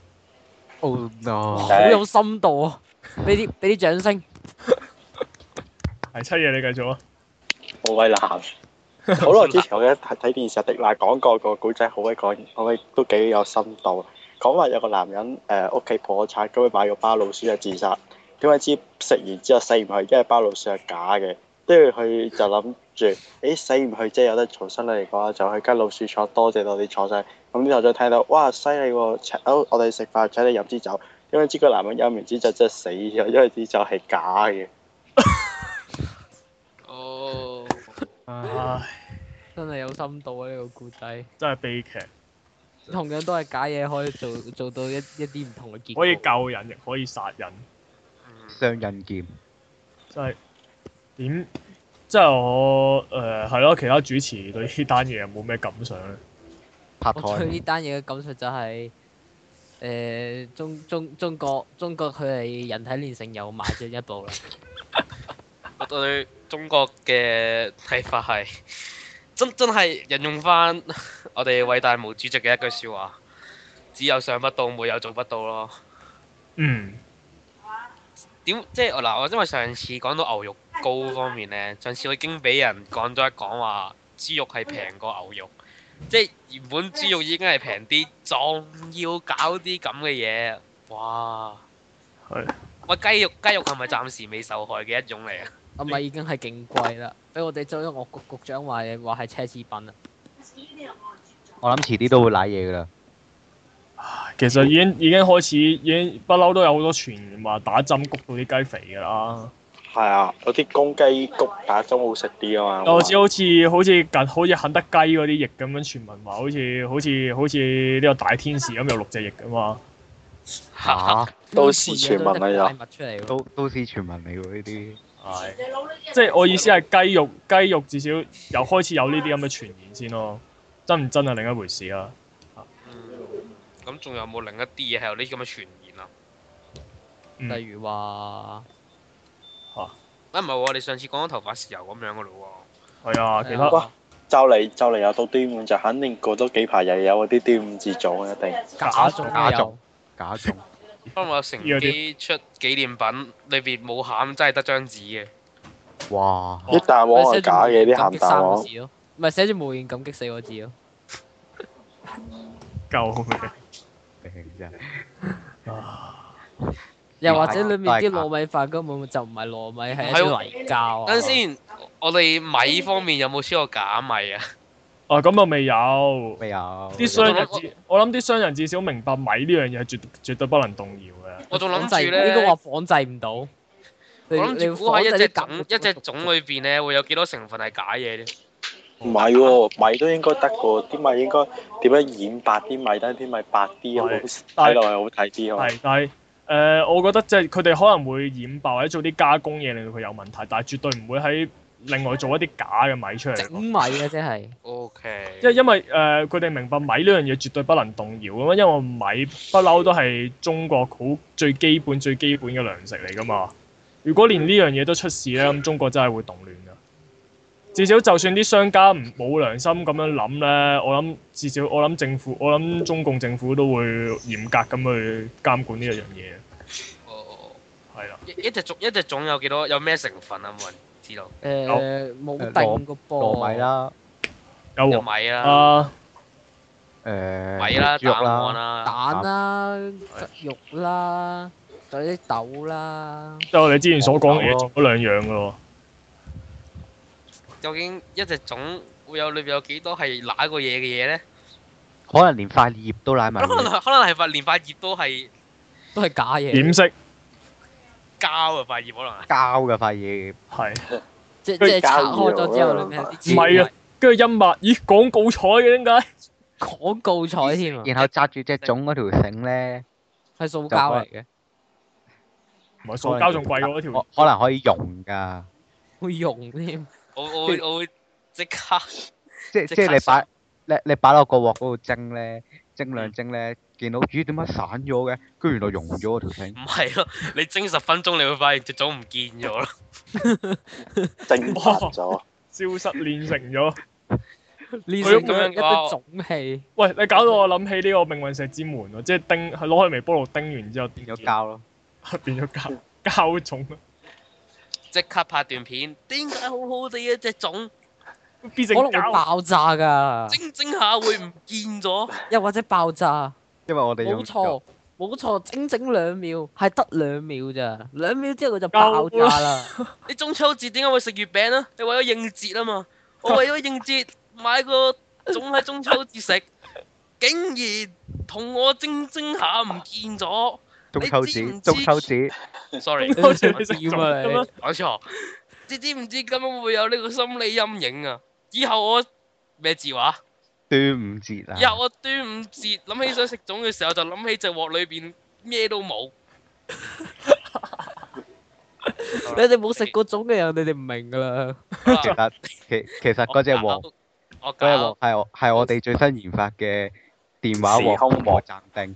Speaker 4: Oh
Speaker 2: 哇
Speaker 4: no！
Speaker 2: 好有深度啊！俾啲俾啲掌聲。
Speaker 1: 係七爺，你繼續啊。
Speaker 3: 好威男。 好耐之前我記得睇睇電視，迪娜講過個古仔，好鬼講，好鬼都幾有深度。講話有個男人誒屋企破產，咁佢買個包老鼠就自殺。點解知食完之後死唔去？因為包老鼠係假嘅。跟住佢就諗住，誒死唔去即係有得重新嚟講，就去間老鼠廠多謝多啲廠商。咁之後再聽到，哇犀利喎！請我哋食飯請你飲支酒。點解知個男人飲完支酒真係死咗？因為支酒係假嘅。
Speaker 5: 哦，
Speaker 1: 唉，
Speaker 2: 真係有深度啊！呢、這個故仔
Speaker 1: 真係悲劇，
Speaker 2: 同樣都係假嘢，可以做做到一一啲唔同嘅結果。
Speaker 1: 可以救人，亦可以殺人，
Speaker 4: 雙刃劍。
Speaker 1: 真係點？即係我誒係咯，其他主持對呢單嘢有冇咩感想咧？
Speaker 4: 拍
Speaker 2: 我對呢
Speaker 4: 台。
Speaker 2: 單嘢嘅感受就係、是、誒、呃、中中中國中國佢係人體煉成又邁進一步啦。
Speaker 5: 我對中國嘅睇法係真真係引用翻我哋偉大毛主席嘅一句説話：只有想不到，沒有做不到咯。
Speaker 1: 嗯。
Speaker 5: 點即係嗱，我因為上次講到牛肉糕方面呢，上次我已經俾人講咗一講話豬肉係平過牛肉，即係原本豬肉已經係平啲，仲要搞啲咁嘅嘢，哇！
Speaker 1: 係。
Speaker 5: 喂，雞肉雞肉係咪暫時未受害嘅一種嚟啊？
Speaker 2: 係咪已經係勁貴啦？俾我哋周一樂局局長話嘅話係奢侈品啊！
Speaker 4: 我諗遲啲都會賴嘢噶啦。
Speaker 1: 其實已經已經開始，已經不嬲都有好多傳言話打針谷到啲雞肥㗎啦。
Speaker 3: 係啊，嗰啲公雞谷打針好食啲啊嘛。
Speaker 1: 我知好似好似近好似肯德雞嗰啲翼咁樣，傳聞話好似好似好似呢個大天使咁有六隻翼㗎嘛。
Speaker 4: 嚇！
Speaker 3: 都市傳聞啊又。
Speaker 2: 出嚟
Speaker 4: 都都市傳聞嚟喎呢啲。
Speaker 1: 係。即係我意思係雞肉雞肉至少有開始有呢啲咁嘅傳言先咯，真唔真係另一回事啊。
Speaker 5: 咁仲有冇另一啲嘢係有呢啲咁嘅傳言啊？
Speaker 1: 嗯、
Speaker 2: 例如話
Speaker 1: 嚇，
Speaker 5: 啊唔係喎，你上次講咗頭髮豉油咁樣噶咯喎。
Speaker 1: 係啊，其他
Speaker 3: 哇！就嚟就嚟又到端午，就肯定過多幾排又有嗰啲端午節種一定。
Speaker 2: 假種
Speaker 4: 假種
Speaker 2: 有
Speaker 4: 假種。
Speaker 5: 不過我乘機出紀念品，裏邊冇餡，真係得張紙嘅。
Speaker 4: 哇！
Speaker 3: 啲蛋黃係假嘅，啲鹹蛋黃。
Speaker 2: 唔係寫住無言感激四個字咯。
Speaker 1: 夠嘅。
Speaker 4: 真係。
Speaker 2: 又或者裏面啲糯米飯根本就唔係糯米，係一啲泥膠啊！
Speaker 5: 等陣先，我哋米方面有冇出過假米啊？
Speaker 1: 啊咁啊未有。
Speaker 4: 未有。
Speaker 1: 啲商人至我諗啲商人至少明白米呢樣嘢係絕絕對不能動搖嘅。
Speaker 5: 我仲諗住咧，
Speaker 2: 應該話仿製唔到。
Speaker 5: 我諗住估下一隻種一隻種裏邊咧會有幾多成分係假嘢咧？
Speaker 3: 唔係喎，米都應該得喎，啲米應該點樣染白啲米，等啲米白啲，好睇落去好睇啲喎。
Speaker 1: 係，但係誒、呃，我覺得即係佢哋可能會染白或者做啲加工嘢令到佢有問題，但係絕對唔會喺另外做一啲假嘅米出嚟。
Speaker 2: 整米嘅即係。
Speaker 5: O K。
Speaker 1: 即係因為誒，佢哋明白米呢樣嘢絕對不能動搖咁啊，因為米不嬲都係中國好最基本最基本嘅糧食嚟㗎嘛。如果連呢樣嘢都出事咧，咁中國真係會動亂㗎。至少就算啲商家唔冇良心咁樣諗咧，我諗至少我諗政府，我諗中共政府都會嚴格咁去監管呢一樣嘢。
Speaker 5: 哦。
Speaker 1: 係啦。
Speaker 5: 一一隻種一隻種有幾多？有咩成分啊？冇人知道。
Speaker 2: 誒冇定個噃。
Speaker 4: 糯米啦。
Speaker 1: 有
Speaker 5: 有米啦。
Speaker 1: 啊。
Speaker 4: 誒。
Speaker 5: 米啦，
Speaker 4: 豬肉
Speaker 5: 蛋黃啦。
Speaker 2: 蛋啦，肉啦，仲有啲豆啦。
Speaker 1: 即係我哋之前所講嘅嘢做咗兩樣㗎喎。
Speaker 5: 究竟一隻種會有裏邊有幾多係揦過嘢嘅嘢咧？
Speaker 4: 可能連塊葉都揦埋。
Speaker 5: 可能可能係塊連塊葉都係
Speaker 2: 都係假嘢。
Speaker 1: 點識？
Speaker 5: 膠啊塊葉可能係。
Speaker 4: 膠嘅塊葉。
Speaker 1: 係。
Speaker 2: 即即係拆開咗之後，裏面係啲。
Speaker 1: 唔係啊，跟住陰物，咦廣告彩嘅點解？
Speaker 2: 廣告彩添啊！
Speaker 4: 然後紮住隻種嗰條繩咧，
Speaker 2: 係塑膠嚟嘅。
Speaker 1: 唔係塑膠仲貴過嗰條。
Speaker 4: 可能可以用㗎。
Speaker 2: 會用添。
Speaker 5: 我我會我會即刻，
Speaker 4: 即即係你擺你你擺落個鑊嗰度蒸咧，蒸兩蒸咧，見到咦點解散咗嘅？跟住原來溶咗嗰條繩。
Speaker 5: 唔係咯，你蒸十分鐘，你會發現隻種唔見咗咯。
Speaker 3: 蒸發咗，
Speaker 1: 消失煉成咗，
Speaker 2: 煉成咗一堆種氣。
Speaker 1: 喂，你搞到我諗起呢個命運石之門喎，即係叮係攞去微波爐叮完之後
Speaker 4: 變咗膠咯，
Speaker 1: 變咗膠膠種。
Speaker 5: 即刻拍段片，點解好好地一隻種
Speaker 1: 變成
Speaker 2: 可能會
Speaker 1: 膠。
Speaker 2: 爆炸㗎，
Speaker 5: 蒸蒸下會唔見咗。
Speaker 2: 又或者爆炸。
Speaker 4: 因為我哋用
Speaker 2: 冇錯，冇錯，整整兩秒，係得兩秒咋，兩秒之後佢就爆炸啦。
Speaker 5: 你中秋節點解會食月餅啊？你為咗應節啊嘛。我為咗應節買個粽喺中秋節食，竟然同我蒸蒸下唔見咗。
Speaker 4: 中秋節，中秋節。
Speaker 5: sorry，
Speaker 2: 你食點啊你？
Speaker 5: 講錯。你知唔知咁樣會有呢個心理陰影啊？以後我咩節話？
Speaker 4: 端午節啊！
Speaker 5: 以後我端午節諗起想食粽嘅時候，就諗起隻鑊裏邊咩都冇。
Speaker 2: 你哋冇食過粽嘅人，你哋唔明㗎啦。
Speaker 4: 其實其其實嗰隻鑊，
Speaker 5: 我
Speaker 4: 嗰隻鑊係我係我哋最新研發嘅電話鑊同埋暫定。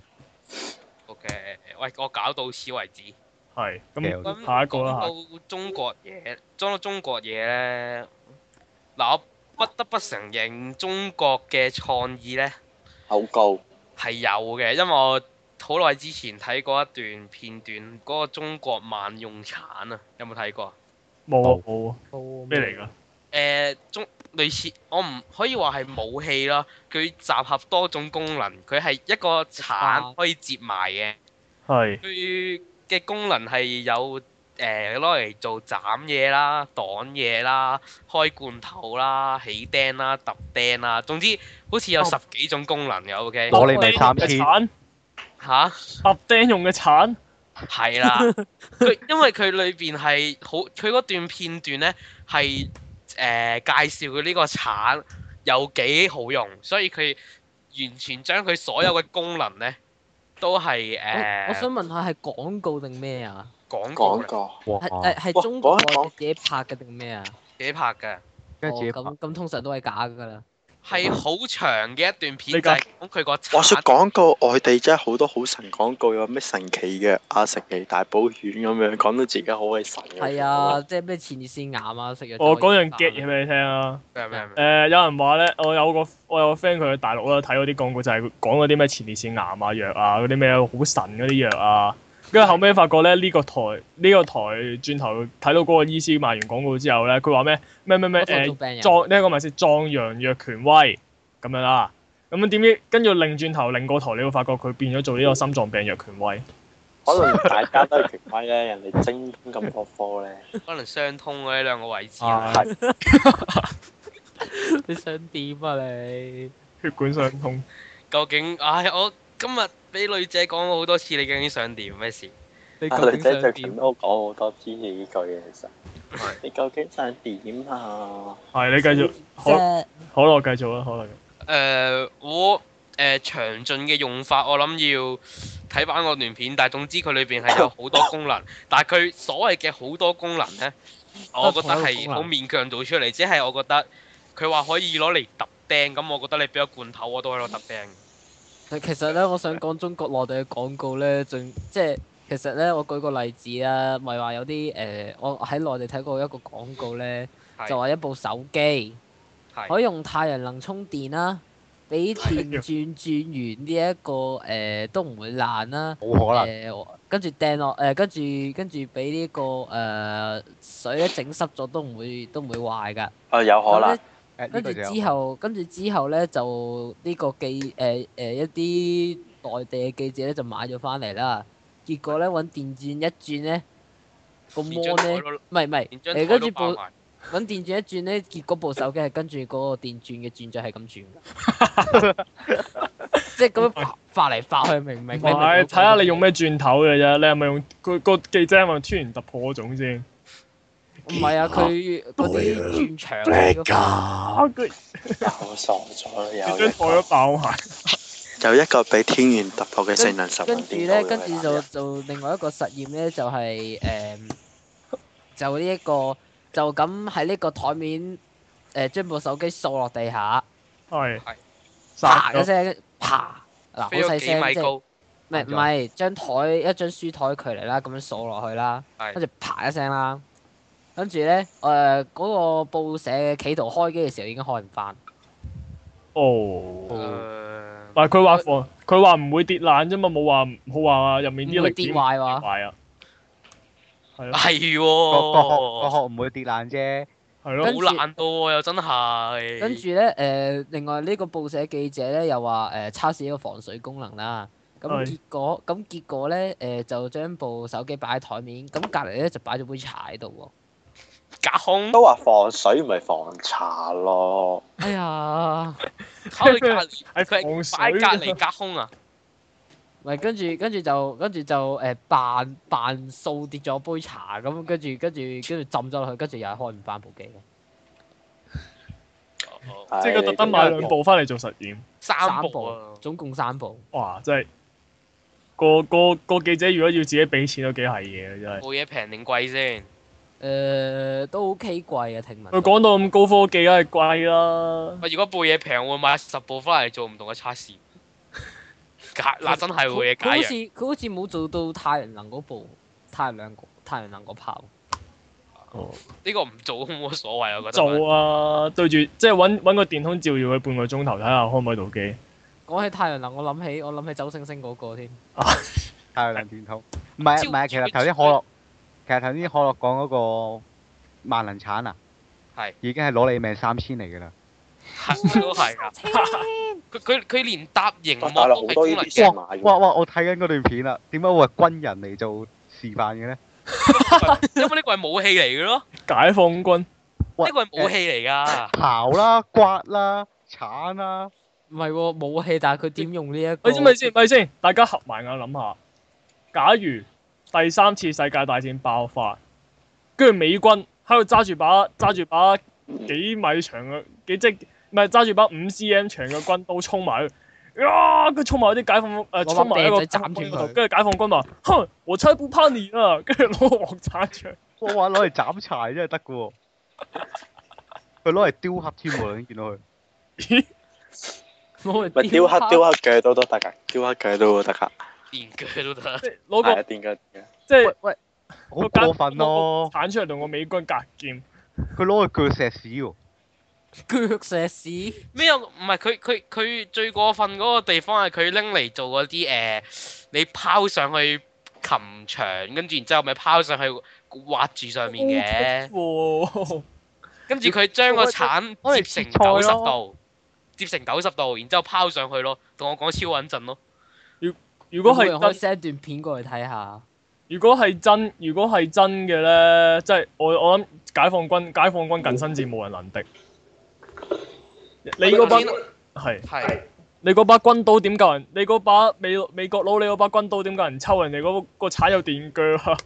Speaker 5: O K，喂，我搞到此為止。
Speaker 1: 係
Speaker 4: 咁
Speaker 1: 咁，下一個啦。
Speaker 5: 講到中國嘢，講到中國嘢咧，嗱我。不得不承認，中國嘅創意呢
Speaker 3: 好高，
Speaker 5: 係有嘅，因為我好耐之前睇過一段片段，嗰、那個中國萬用鏟啊，有冇睇過？
Speaker 1: 冇啊冇啊，
Speaker 2: 冇
Speaker 1: 咩嚟㗎？
Speaker 5: 誒、呃，中類似我唔可以話係武器啦，佢集合多種功能，佢係一個鏟可以接埋嘅，
Speaker 1: 係
Speaker 5: 佢嘅功能係有。誒攞嚟做斬嘢啦、擋嘢啦、開罐頭啦、起釘啦、揼釘啦，總之好似有十幾種功能嘅。O K，
Speaker 4: 攞你咪三千
Speaker 5: 嚇
Speaker 1: 揼釘用嘅鏟
Speaker 5: 係啦，佢因為佢裏邊係好，佢嗰段片段咧係誒介紹佢呢個鏟有幾好用，所以佢完全將佢所有嘅功能咧都係誒。呃、
Speaker 2: 我，我想問下係廣告定咩啊？
Speaker 5: 廣
Speaker 3: 告，
Speaker 2: 係誒係中國自己拍嘅定咩啊？
Speaker 5: 自己拍嘅，
Speaker 2: 咁咁通常都係假㗎啦。
Speaker 5: 係好長嘅一段片，就係講佢個。
Speaker 3: 話說廣告，外地真係好多好神廣告，有咩神奇嘅啊食奇大補丸咁樣，講到自己好鬼神。
Speaker 2: 係啊，即係咩前列腺癌啊，食藥。
Speaker 1: 我講樣 get 嘢俾你聽啊！
Speaker 5: 咩咩
Speaker 1: 誒，有人話咧，我有個我有個 friend 佢去大陸啦，睇嗰啲廣告就係講嗰啲咩前列腺癌啊藥啊，嗰啲咩好神嗰啲藥啊。跟住後尾發覺咧，呢個台呢個台轉頭睇到嗰個醫師賣完廣告之後咧，佢話咩咩咩咩誒壯呢一個咪先壯陽藥權威咁樣啦。咁樣點知跟住擰轉頭擰個台，你會發覺佢變咗做呢個心臟病藥權威。
Speaker 3: 可能大家都係權威咧，人哋精咁多科咧，
Speaker 5: 可能相通嘅呢兩個位置。
Speaker 3: 係。
Speaker 2: 你想點啊你？
Speaker 1: 血管相通。
Speaker 5: 究竟唉，我今日俾女仔講過好多次，你究竟想點咩事？
Speaker 2: 你
Speaker 3: 啊，女仔最近都講好多支持呢句嘢，其實。
Speaker 5: 係。
Speaker 3: 你究竟想點啊？
Speaker 1: 係你繼續。好，好啦，我繼續啦，好啦。
Speaker 5: 誒，我誒詳盡嘅用法，我諗要睇翻個段片，但係總之佢裏邊係有好多功能，但係佢所謂嘅好多功能咧，我覺得係好勉強做出嚟，即係我覺得佢話可以攞嚟揼釘，咁我覺得你俾個罐頭我都可以攞揼釘。
Speaker 2: 其實咧，我想講中國內地嘅廣告咧，仲即係其實咧，我舉個例子啦，咪話有啲誒、呃，我喺內地睇過一個廣告咧，
Speaker 5: 是
Speaker 2: 就話一部手機
Speaker 5: 是
Speaker 2: 可以用太陽能充電啦，俾電轉轉完呢、這、一個誒、呃、都唔會爛啦，
Speaker 4: 冇可能。
Speaker 2: 誒跟住掟落誒，跟住跟住俾呢個誒、呃、水一整濕咗都唔會都唔會壞㗎。
Speaker 3: 啊，有可能。
Speaker 2: 跟住之後，跟住之後咧，就呢個記誒誒、呃呃、一啲內地嘅記者咧就買咗翻嚟啦。結果咧揾電鑽一轉咧，個摩咧唔係唔係誒，跟住部揾電鑽一轉咧，結果部手機係跟住嗰個電鑽嘅轉咗係咁轉㗎，即係咁樣發嚟發去，明唔明？
Speaker 1: 係睇下你用咩鑽頭嘅啫，你係咪用個個記者係咪突然突破嗰種先？
Speaker 2: 唔係啊，佢嗰啲轉牆嗰個，
Speaker 3: 又傻咗，有
Speaker 1: 張台都爆埋。
Speaker 3: 有一個比天元突破嘅性能十分
Speaker 2: 跟住咧，跟住就做另外一個實驗咧，就係、是、誒、呃，就呢、這、一個就咁喺呢個台面誒、呃，將部手機掃落地下，
Speaker 1: 係
Speaker 5: 係
Speaker 2: 啪一聲，啪嗱好細聲，即係唔係唔係張台一張書台距離啦，咁樣掃落去啦，跟住啪一聲啦。跟住咧，誒、呃、嗰、那個報社企圖開機嘅時候已經開唔翻。
Speaker 1: 哦。
Speaker 5: 呃、
Speaker 1: 但係佢話防，佢話唔會跌爛啫嘛，冇話冇話入面啲力
Speaker 2: 跌壞喎。
Speaker 1: 壞啊。係咯。
Speaker 5: 係喎。
Speaker 4: 個殼個殼唔會跌爛啫，
Speaker 1: 係咯，
Speaker 2: 跟住
Speaker 5: 好難到喎，又真係。
Speaker 2: 跟住咧誒，另外呢個報社記者咧又話誒測試呢個防水功能啦。咁
Speaker 1: 係
Speaker 2: 結果咁結果咧誒就將部手機擺喺台面，咁隔離咧就擺咗杯茶喺度喎。
Speaker 5: 隔空
Speaker 3: 都話防水唔係防茶咯。
Speaker 2: 哎呀，
Speaker 5: 考佢隔離，
Speaker 1: 係
Speaker 5: 佢
Speaker 1: 防
Speaker 5: 係擺
Speaker 1: 水
Speaker 5: 隔離隔空啊！
Speaker 2: 咪跟住跟住就跟住就誒扮扮掃跌咗杯茶咁，跟住跟住跟住浸咗落去，跟住又係開唔翻部機嘅。
Speaker 1: 即係佢特登買兩部翻嚟做實驗。
Speaker 5: 三部啊！
Speaker 2: 總共三部。
Speaker 1: 哇！真係個個個記者如果要自己俾錢都幾係嘢嘅真係。
Speaker 5: 部嘢平定貴先？
Speaker 2: 誒都 OK 貴啊，聽聞。
Speaker 1: 佢講到咁高科技，梗係貴啦。
Speaker 5: 喂，如果部嘢平，我會買十部翻嚟做唔同嘅測試。假嗱真係會嘅假
Speaker 2: 佢好似
Speaker 5: 嘢。
Speaker 2: 佢好似冇做到太陽能嗰部太陽能太陽能嗰炮。
Speaker 1: 哦，
Speaker 5: 呢個唔做都冇乜所謂，我覺得。
Speaker 1: 做啊！對住即係揾揾個電筒照住佢半個鐘頭，睇下開唔開到機。
Speaker 2: 講起太陽能，我諗起我諗起周星星嗰個添。
Speaker 4: 太陽能電筒。唔係啊唔係啊，其實頭先可樂，其實頭先可樂講嗰個萬能鏟啊，
Speaker 5: 係
Speaker 4: 已經係攞你命三千嚟㗎啦。
Speaker 5: 係都係㗎。佢佢佢連搭熒幕
Speaker 3: 大陸好多
Speaker 5: 都係功能嘅。
Speaker 3: 呢啲先買
Speaker 4: 哇哇！我睇緊嗰段片啦，點解會係軍人嚟做示範嘅咧？
Speaker 5: 因為呢個係武器嚟嘅咯，
Speaker 1: 解放軍
Speaker 5: 呢個係武器嚟㗎。
Speaker 4: 刨啦、刮啦、鏟啦。
Speaker 2: 唔係喎，武器，但係佢點用呢一個？
Speaker 1: 喂，先咪先，咪先，大家合埋眼諗下，假如第三次世界大戰爆發，跟住美軍喺度揸住把揸住把幾米長嘅幾即唔係揸住把五 cm 長嘅軍刀衝埋去，啊！佢衝埋啲解放誒衝埋一個
Speaker 2: 攞把掟仔斬斷佢
Speaker 1: 跟住解放軍話：哼，我才不怕你啊！跟住攞個鑊鏟出嚟。
Speaker 4: 我話攞嚟斬柴真係得㗎喎，佢攞嚟雕刻添喎，你見到佢。
Speaker 1: 咦？
Speaker 2: 攞嚟
Speaker 3: 咪雕刻雕刻鋸刀都得㗎，雕刻鋸刀都得㗎。
Speaker 5: 電鋸都得。
Speaker 1: 即係攞個
Speaker 3: 係啊，電鋸。
Speaker 1: 即係
Speaker 4: 喂喂，好過分咯！
Speaker 1: 鏟出嚟同個美軍隔劍。
Speaker 4: 佢攞去鋸石屎喎。
Speaker 2: 腳石屎。
Speaker 5: 咩有？唔係佢佢佢最過分嗰個地方係佢拎嚟做嗰啲誒，你拋上去擒牆，跟住然之後咪拋上去挖住上面嘅。
Speaker 1: 喎！
Speaker 5: 跟住佢將個鏟
Speaker 4: 我哋
Speaker 5: 接成
Speaker 4: 切菜咯
Speaker 5: 九十度，接成九十度，然之後拋上去咯。同我講超穩陣咯。
Speaker 1: 如果係
Speaker 2: 有冇人可以
Speaker 1: 真，
Speaker 2: send 段片過嚟睇下。
Speaker 1: 如果係真，如果係真嘅咧，即係我我諗解放軍解放軍近身戰無人能敵。你嗰把係
Speaker 5: 係。
Speaker 1: 你嗰把軍刀點夠人？你嗰把美美國佬，你嗰把軍刀點夠人抽？人哋嗰個鏟有電鋸啊！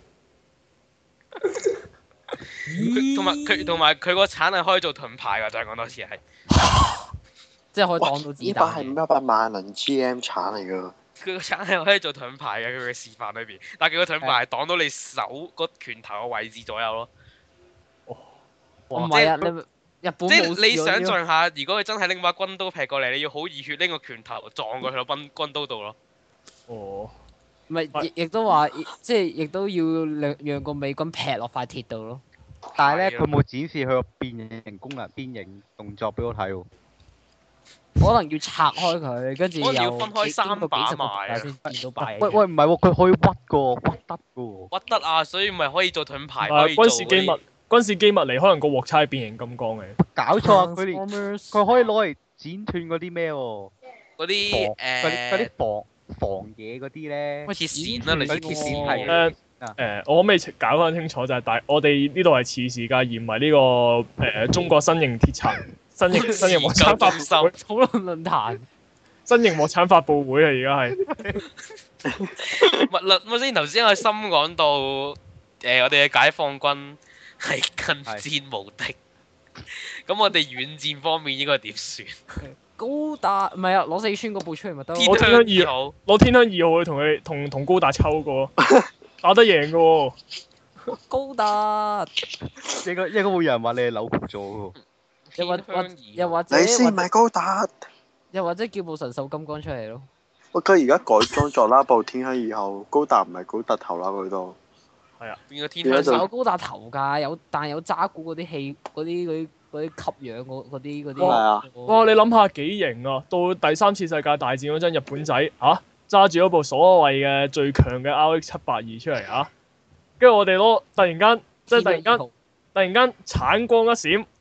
Speaker 5: 佢同埋佢同埋佢個鏟係可以做盾牌㗎，再講多次係。
Speaker 2: 即係可以擋到子
Speaker 3: 呢把係
Speaker 2: 彈嘅。
Speaker 3: 一把萬能 G M 鏟嚟㗎。
Speaker 5: 佢個鏟係可以做盾牌嘅，佢嘅示範裏邊，但係佢個盾牌係擋到你手個拳頭嘅位置左右咯。
Speaker 2: 唔係啊，你日本
Speaker 5: 即
Speaker 2: 冇
Speaker 5: 係你想
Speaker 2: 試過呢個
Speaker 5: 象下，如果佢真係拎把軍刀劈過嚟，你要好熱血拎個拳頭撞過去個軍軍刀度咯。
Speaker 1: 哦，
Speaker 2: 唔係，亦亦都話，即係亦都要讓讓個美軍劈落塊鐵度咯。
Speaker 4: 但係咧，
Speaker 5: 係啊
Speaker 4: 佢冇展示佢個變形功能、變形動作俾我睇喎。
Speaker 2: 可能要拆開佢，跟住
Speaker 5: 可能要
Speaker 2: 又
Speaker 5: 分開三把
Speaker 2: 經過幾十個
Speaker 5: 賣啊
Speaker 2: 先見到把嘢。
Speaker 4: 喂喂，唔係喎，佢可以屈㗎喎，屈得㗎喎。
Speaker 5: 屈得啊，所以咪可以做盾牌，
Speaker 1: 啊
Speaker 5: 可以做
Speaker 1: 軍事機密
Speaker 5: 嗰啲
Speaker 1: 軍事機密嚟，可能個鑊叉係變形金剛嘅。
Speaker 4: 搞錯啊！佢連
Speaker 2: Transformers
Speaker 4: 佢可以攞嚟剪斷嗰啲咩喎？
Speaker 5: 嗰
Speaker 4: 防
Speaker 5: 啲
Speaker 4: 嗰啲嗰啲
Speaker 5: 誒
Speaker 4: 防防嘢嗰啲咧。
Speaker 5: 鐵線啦，類似
Speaker 4: 嗰啲
Speaker 5: 鐵線
Speaker 4: 係
Speaker 1: 誒誒，我可唔可以搞翻清楚就係大我哋呢度係次世界，而唔係呢個誒中國新型鐵鏟新型新型鑊鏟發布會
Speaker 2: 討論論壇。
Speaker 1: 新型鑊鏟發布會啊！而家係
Speaker 5: 物律，我先頭先阿森講到誒，我哋嘅解放軍係近戰無敵，咁我哋遠戰方面應該點算？
Speaker 2: 高達唔係啊，攞四川嗰部出嚟咪得咯。
Speaker 1: 我
Speaker 5: 天香
Speaker 1: 天香
Speaker 5: 二號，
Speaker 1: 攞天香二號去同佢同同高達抽過，打得贏嘅喎。
Speaker 2: 高達，
Speaker 4: 應該應該會有人話你係扭曲咗喎。
Speaker 2: 又或或
Speaker 5: 天香二號
Speaker 2: 又或者
Speaker 3: 你先唔係高達。
Speaker 2: 又或者叫部神獸金剛出嚟咯。
Speaker 3: 喂，佢而家改裝咗啦，部天香二號高達唔係高達頭啦，佢都。
Speaker 5: 變個天
Speaker 3: 變咗就
Speaker 5: 香
Speaker 2: 有高達頭㗎，有但係有渣古嗰啲氣嗰啲嗰啲嗰啲吸氧嗰嗰啲嗰啲。
Speaker 3: 係啊。
Speaker 1: 哇！你諗下幾型啊！到第三次世界大戰嗰陣，日本仔嚇揸住嗰部所謂嘅最強嘅 R X 七八二出嚟嚇，跟住我哋攞突然間即係突然間突然間橙光一閃，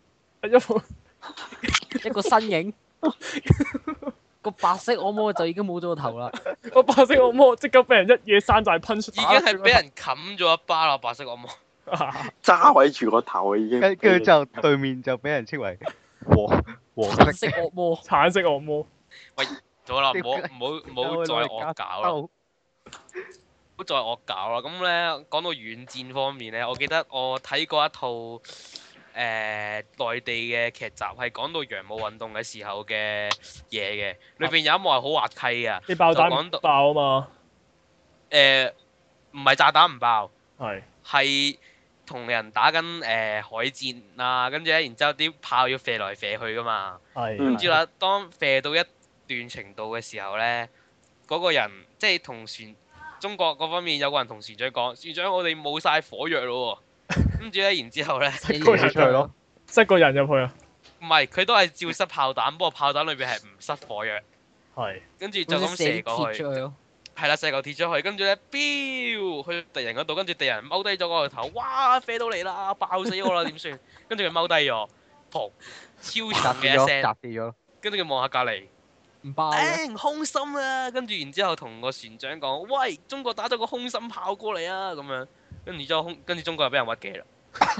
Speaker 1: 一部
Speaker 2: 一個身影，個白色惡魔就已經冇咗個頭啦。
Speaker 1: 個白色惡魔即刻俾人一嘢山寨噴出，
Speaker 5: 已經係俾人冚咗一巴啦！白色惡魔
Speaker 3: 揸位住個頭已經。
Speaker 4: 跟跟住之後對面就俾人稱為黃黃
Speaker 2: 白
Speaker 4: 色
Speaker 2: 色惡魔，
Speaker 1: 橙色惡魔。
Speaker 5: 喂，好啦，唔好唔好唔好再惡搞啦，唔好再惡搞啦。咁咧講到遠戰方面咧，我記得我睇過一套誒、呃、內地嘅劇集，係講到洋務運動嘅時候嘅嘢嘅，裏邊有一幕係好滑稽啊！
Speaker 1: 啲爆彈
Speaker 5: 講到
Speaker 1: 爆啊嘛。
Speaker 5: 誒，唔係炸彈唔爆，
Speaker 1: 係
Speaker 5: 係同人打緊誒、呃、海戰啊，跟住咧，然之後啲炮要射來射去噶嘛。
Speaker 1: 係。
Speaker 5: 跟住啦，當射到一段程度嘅時候咧，嗰、個人即係同船中國嗰方面有個人同船長講：船長，我哋冇晒火藥咯喎。跟住咧，然之後咧，
Speaker 1: 塞個人
Speaker 4: 出去咯，
Speaker 1: 塞個人入去啊。
Speaker 5: 唔係佢都係照塞炮彈，不過炮彈裏邊係唔塞火藥。
Speaker 1: 係。
Speaker 5: 跟住就咁射過去。
Speaker 2: 出去咯。
Speaker 5: 係啦，射嚿鐵出去，跟住咧，飆去敵人嗰度，跟住敵人踎低咗嗰個頭，哇，飛到嚟啦，爆死我啦，點算？跟住佢踎低咗，砰，超重嘅一聲，
Speaker 4: 砸跌咗，
Speaker 5: 跟住佢望下隔離，
Speaker 2: 唔爆嘅。
Speaker 5: 頂空心啊！跟住然之後同個船長講：喂，中國打咗個空心炮過嚟啊！咁樣，跟住之後空，跟住中國又俾人屈機啦。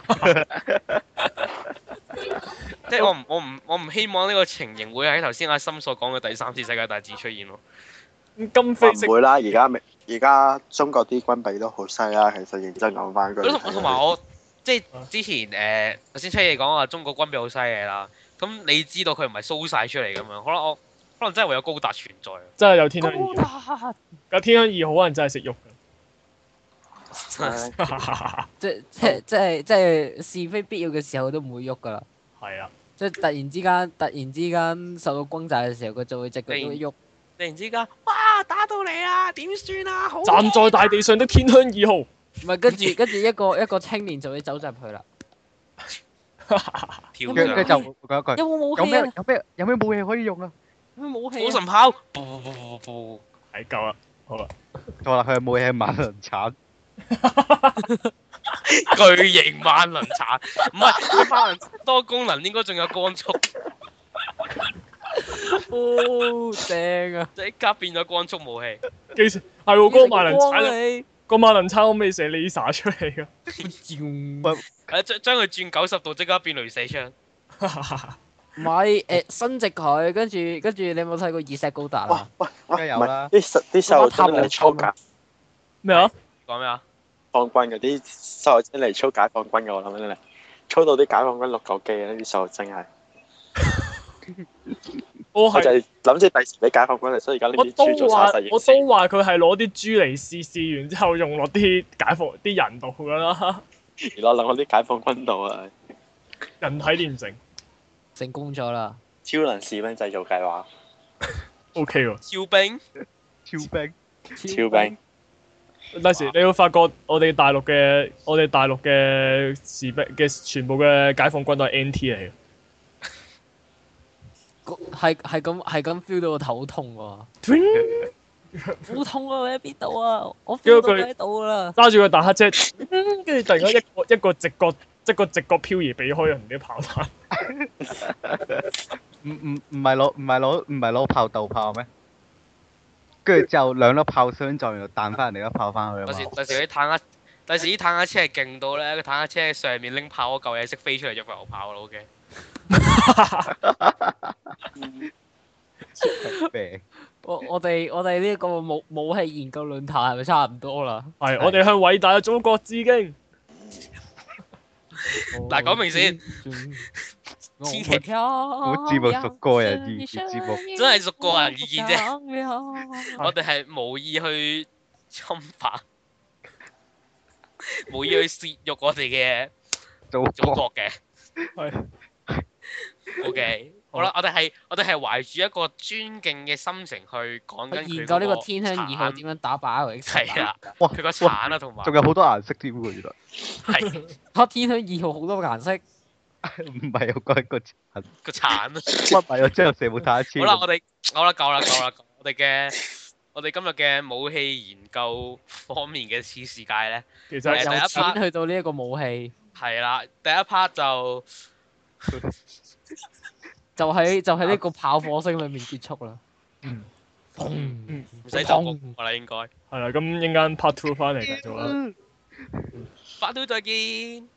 Speaker 5: 即係我唔我唔我唔希望呢個情形會喺頭先阿森所講嘅第三次世界大戰出現咯。
Speaker 1: 金飛色
Speaker 3: 唔會啦，而家而家中國啲軍備都好犀啦，其實認真講翻句。
Speaker 5: 同同埋我即係之前誒頭先出嘢講話中國軍備好犀利啦，咁你知道佢唔係 show 曬出嚟咁樣，可能我可能真係會有高達存在。
Speaker 1: 真係有天香
Speaker 2: 高
Speaker 1: 二號，
Speaker 2: 達，
Speaker 1: 有天香二號可能真係識喐
Speaker 3: 唉
Speaker 1: 㗎。
Speaker 2: 即即即係即係是非必要嘅時候都唔會喐噶啦。
Speaker 1: 係啊。
Speaker 2: 即係突然之間，突然之間受到轟炸嘅時候，佢就會隻腳都會喐。
Speaker 5: 突然之間，哇！打到嚟啊，點算啊？好
Speaker 1: 站在大地上的天香二號。
Speaker 2: 唔係，跟住跟住一個一個青年就會走入去啦。
Speaker 5: 跳
Speaker 4: 跟住
Speaker 5: 上
Speaker 4: 就講一句，
Speaker 2: 有冇武
Speaker 4: 有咩
Speaker 2: 器啊？
Speaker 4: 有咩有咩武器可以用啊？
Speaker 2: 有咩武器啊？
Speaker 5: 火神炮，噗噗噗噗噗，
Speaker 1: 係夠啦，好啦。
Speaker 4: 錯啦，佢嘅武器係萬能鏟。
Speaker 5: 巨型萬能鏟，唔係佢萬能多功能，應該仲有光速，
Speaker 2: 哦，正啊！
Speaker 5: 即刻變咗光速武器。
Speaker 1: 幾時係喎？嗰個萬能鏟，
Speaker 2: 鏟
Speaker 1: 個萬能鏟可唔可以射 laser 出嚟㗎？
Speaker 5: 誒將將佢轉九十度，即刻變雷射槍。
Speaker 2: 唔係誒，伸直佢，跟住跟住，你有冇睇過二石高達啊？
Speaker 3: 喂
Speaker 4: 梗係
Speaker 3: 喂，唔係
Speaker 4: 有啦
Speaker 3: 啲細啲細路仔嚟操解
Speaker 1: 咩啊？
Speaker 5: 講咩啊？
Speaker 3: 放軍嘅啲細路仔嚟操解放軍嘅，我諗真係操到啲解放軍六嚿機啊！啲細路真係，
Speaker 1: 我
Speaker 3: 我就
Speaker 1: 係
Speaker 3: 係諗住第時俾解放軍嚟，所以而家呢
Speaker 1: 我
Speaker 3: 啲豬做
Speaker 1: 都話
Speaker 3: 晒實驗
Speaker 1: 我都話佢係攞啲豬嚟試試完之後用落啲解放啲人度㗎啦。
Speaker 3: 而家諗我啲解放軍度啊，
Speaker 1: 人體煉成
Speaker 2: 成功咗啦！
Speaker 3: 超能士兵製造計劃，
Speaker 1: ，OK 喎。
Speaker 5: 超兵，
Speaker 4: 超兵，
Speaker 3: 超兵。
Speaker 1: 第時你會發覺我哋大陸嘅我哋大陸嘅士兵嘅全部嘅解放軍都係 N T 嚟嘅。
Speaker 2: 係係咁係咁 feel 到個頭痛喎，好痛啊！你喺邊度啊？我 feel 到你喺度啦。
Speaker 1: 揸住個大黑車，跟住突然間一個一個直角一個直角漂移避開人哋啲炮彈。
Speaker 4: 唔唔唔係攞唔係攞唔係攞炮鬥炮咩？跟住之後兩粒炮相撞，然後彈翻人哋粒炮翻去啊
Speaker 5: 第時
Speaker 4: 嘛！
Speaker 5: 第時啲坦克，第時啲坦克車係勁到咧，個坦克車上面拎炮嗰嚿嘢識飛出嚟入油炮啦，OK。
Speaker 4: 病
Speaker 2: 我我哋我哋呢個武武器研究論壇係咪差唔多啦？
Speaker 1: 係，我哋向偉大嘅祖國致敬。
Speaker 5: 嗱，講明先，千祈
Speaker 4: 好節目屬個人意見節目，
Speaker 5: 真係屬個人意見啫。我哋係無意去侵犯，無意去褻瀆我哋嘅
Speaker 4: 祖
Speaker 5: 祖
Speaker 4: 國
Speaker 5: 國嘅。
Speaker 1: 係。
Speaker 5: O.K. 好啦，我哋係我哋係懷住一個尊敬嘅心情去講緊佢
Speaker 2: 研究呢個
Speaker 5: 嗰
Speaker 2: 天香二號點樣打敗 Alex。
Speaker 5: 係啦，
Speaker 4: 哇
Speaker 5: 佢個鏟啊，同埋
Speaker 4: 仲有好多顏色添喎，原來
Speaker 5: 係
Speaker 2: 嚇天香二號好多個顏色。
Speaker 4: 唔係我講一個殘，
Speaker 5: 個鏟啊。
Speaker 4: 乜唔係我將射部太超。
Speaker 5: 好啦，我哋好啦，夠啦，夠啦，我哋嘅我哋今日嘅武器研究方面嘅次世界咧，
Speaker 1: 其實
Speaker 5: 係第一
Speaker 2: 由
Speaker 5: part
Speaker 2: 錢去到呢一個武器。
Speaker 5: 係啦，第一 part 就
Speaker 2: 就喺就喺呢個炮火聲裏面結束啦。
Speaker 1: 嗯，
Speaker 2: 砰！
Speaker 5: 唔使就播我啦，應該。
Speaker 1: 係啦，咁陣間 part two 翻嚟繼續啦。
Speaker 5: Part two 再見。